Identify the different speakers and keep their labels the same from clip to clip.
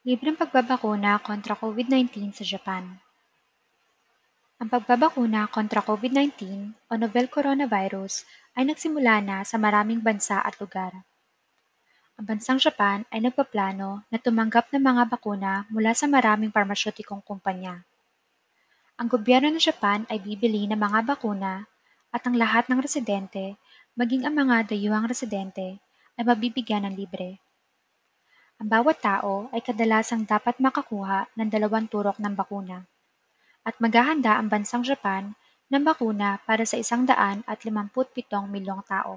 Speaker 1: Libreng pagbabakuna kontra COVID-19 sa Japan. Ang pagbabakuna kontra COVID-19 o novel coronavirus ay nagsimula na sa maraming bansa at lugar. Ang bansang Japan ay nagpaplano na tumanggap ng mga bakuna mula sa maraming parmasyotikong kumpanya. Ang gobyerno ng Japan ay bibili ng mga bakuna at ang lahat ng residente, maging ang mga dayuhang residente, ay mabibigyan ng libre. Ang bawat tao ay kadalasang dapat makakuha ng 2 turok ng bakuna at maghahanda ang bansang Japan ng bakuna para sa 157 milyong tao.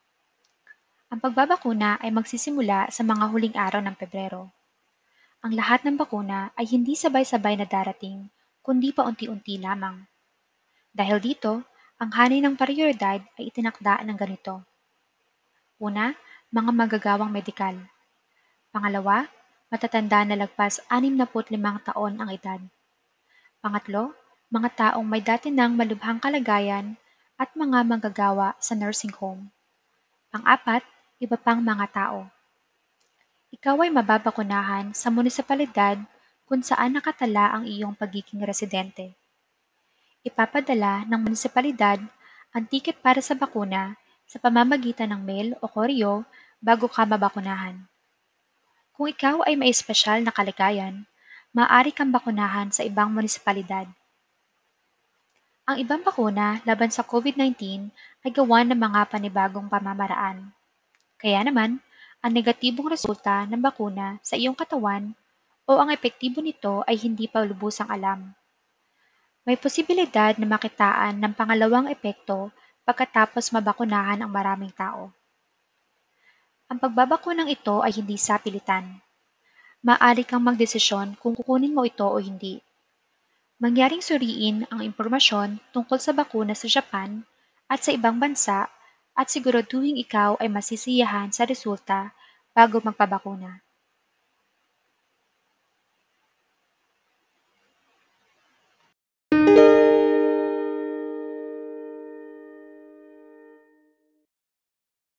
Speaker 1: Ang pagbabakuna ay magsisimula sa mga huling araw ng Pebrero. Ang lahat ng bakuna ay hindi sabay-sabay na darating, kundi paunti-unti lamang. Dahil dito, ang hanay ng prioridad ay itinakda ng ganito. Una, mga magagawang medikal. Pangalawa, matatanda na lagpas 65 taon ang edad. Pangatlo, mga taong may dati ng malubhang kalagayan at mga manggagawa sa nursing home. Pang-apat, iba pang mga tao. Ikaw ay mababakunahan sa munisipalidad kung saan nakatala ang iyong pagiging residente. Ipapadala ng munisipalidad ang tiket para sa bakuna sa pamamagitan ng mail o koreo bago ka mabakunahan. Kung ikaw ay may espesyal na kalagayan, maaari kang bakunahan sa ibang munisipalidad. Ang ibang bakuna laban sa COVID-19 ay gawa ng mga panibagong pamamaraan. Kaya naman, ang negatibong resulta ng bakuna sa iyong katawan o ang epektibo nito ay hindi pa lubusang alam. May posibilidad na makitaan ng pangalawang epekto pagkatapos mabakunahan ang maraming tao. Ang pagbabakunang ito ay hindi sapilitan. Maaari kang magdesisyon kung kukunin mo ito o hindi. Mangyaring suriin ang impormasyon tungkol sa bakuna sa Japan at sa ibang bansa at siguraduhing ikaw ay masisiyahan sa resulta bago magpabakuna.